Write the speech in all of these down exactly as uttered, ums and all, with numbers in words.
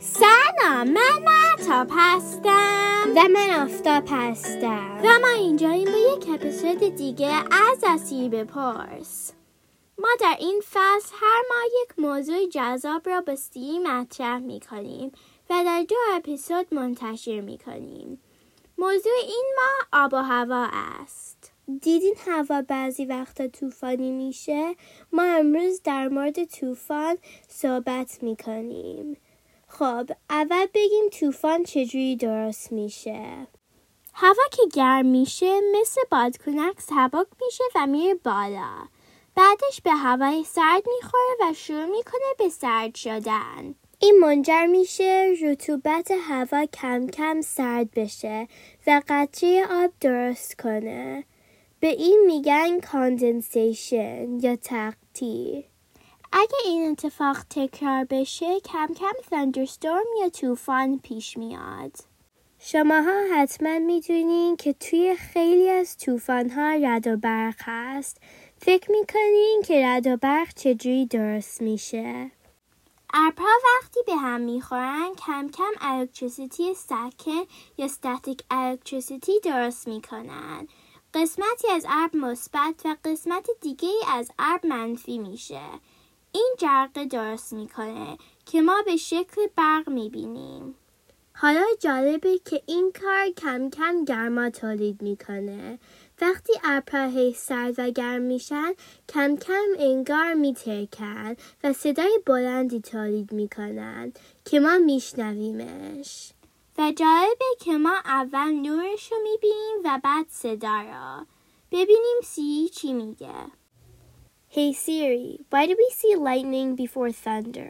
سلام، من مهتاب هستم و من آفتاب هستم و ما اینجاییم با یک اپیزود دیگه از اسیر بپرس. ما در این فصل هر ماه یک موضوع جذاب را با سی مطرح می کنیم و در دو اپیزود منتشر می کنیم. موضوع این ماه آب و هوا است. دیدین هوا بعضی وقتا طوفانی میشه؟ ما امروز در مورد طوفان صحبت می کنیم. خب اول بگیم طوفان چجوری درست میشه. هوا که گرم میشه مثل بادکنک سبک میشه و میره بالا. بعدش به هوای سرد میخوره و شروع میکنه به سرد شدن. این منجر میشه رطوبت هوا کم کم سرد بشه و قطره آب درست کنه. به این میگن کاندنسیشن یا تقطیر. اگه این اتفاق تکرار بشه کم کم ثاندرستورم یا طوفان پیش میاد. شماها حتما میدونین که توی خیلی از طوفان‌ها رعد و برق هست. فکر میکنین که رعد و برق چجوری درست میشه؟ ابرها وقتی به هم میخورن کم کم الکتریسیتی سکن یا استاتیک الکتریسیتی درست میکنن. قسمتی از ابر مثبت و قسمت دیگه از ابر منفی میشه. این جرقه درست میکنه که ما به شکل برق میبینیم. حالا جالبه که این کار کم کم گرما تولید میکنه. وقتی ابرها هی سرد و گرم میشن کم کم انگار میترکن و صدای بلندی تولید میکنن که ما میشنویمش. و جالبه که ما اول نورش رو میبینیم و بعد صدا را. ببینیم سی چی میگه. Hey Siri, why do we see lightning before thunder?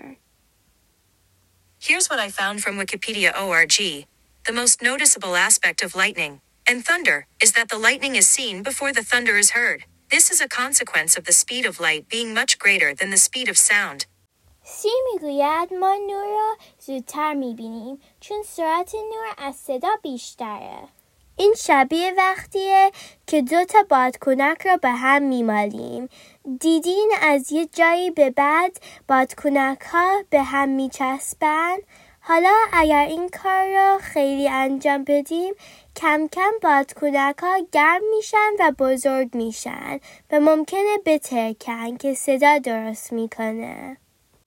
Here's what I found from Wikipedia org. The most noticeable aspect of lightning and thunder is that the lightning is seen before the thunder is heard. This is a consequence of the speed of light being much greater than the speed of sound. سی میگوید ما نور را زودتر میبینیم چون سرعت نور از صدا بیشتره. این شبیه وقتیه که دو تا بادکنک را به هم میمالیم. دیدین از یه جایی به بعد بادکنک ها به هم میچسبن؟ حالا اگر این کار را خیلی انجام بدیم کم کم بادکنک ها گرم میشن و بزرگ میشن و ممکنه بترکن که صدا درست میکنه.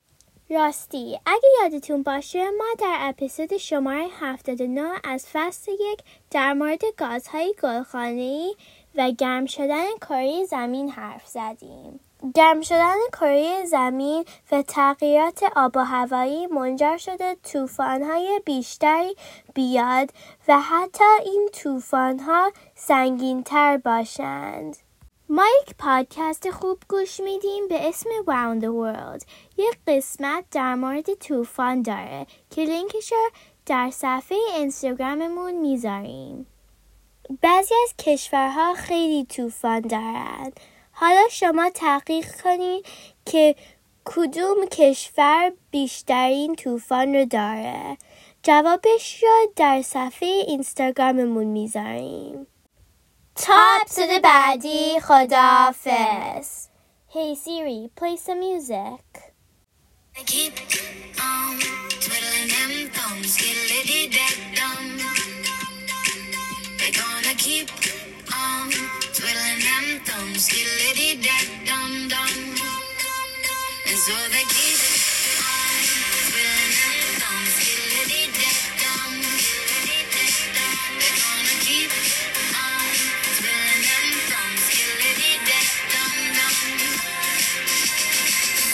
راستی اگه یادتون باشه ما در اپیزود شماره هفتاد و نه از فصل یک در مورد گازهای گلخانه‌ای و گرم شدن کره زمین حرف زدیم. گرم شدن کره زمین و تغییرات آب و هوایی منجر شده طوفان‌های بیشتری بیاد و حتی این طوفان‌ها سنگین‌تر باشند. ما یک پادکست خوب گوش میدیم به اسم Round the World. یک قسمت در مورد طوفان داره که لینکش رو در صفحه اینستاگراممون میذاریم. بعضی از کشورها خیلی طوفان دارند. حالا شما تحقیق کنید که کدوم کشور بیشترین طوفان رو داره. جوابش رو در صفحه اینستاگراممون میذاریم. تا اپیزود بعدی خداحافظ. Hey Siri, play some music. I keep on twiddling them thumbs, skiddly-dee-dah-dum. They're gonna keep on twiddling them thumbs, skiddly-dee-dah-dum-dum. And so they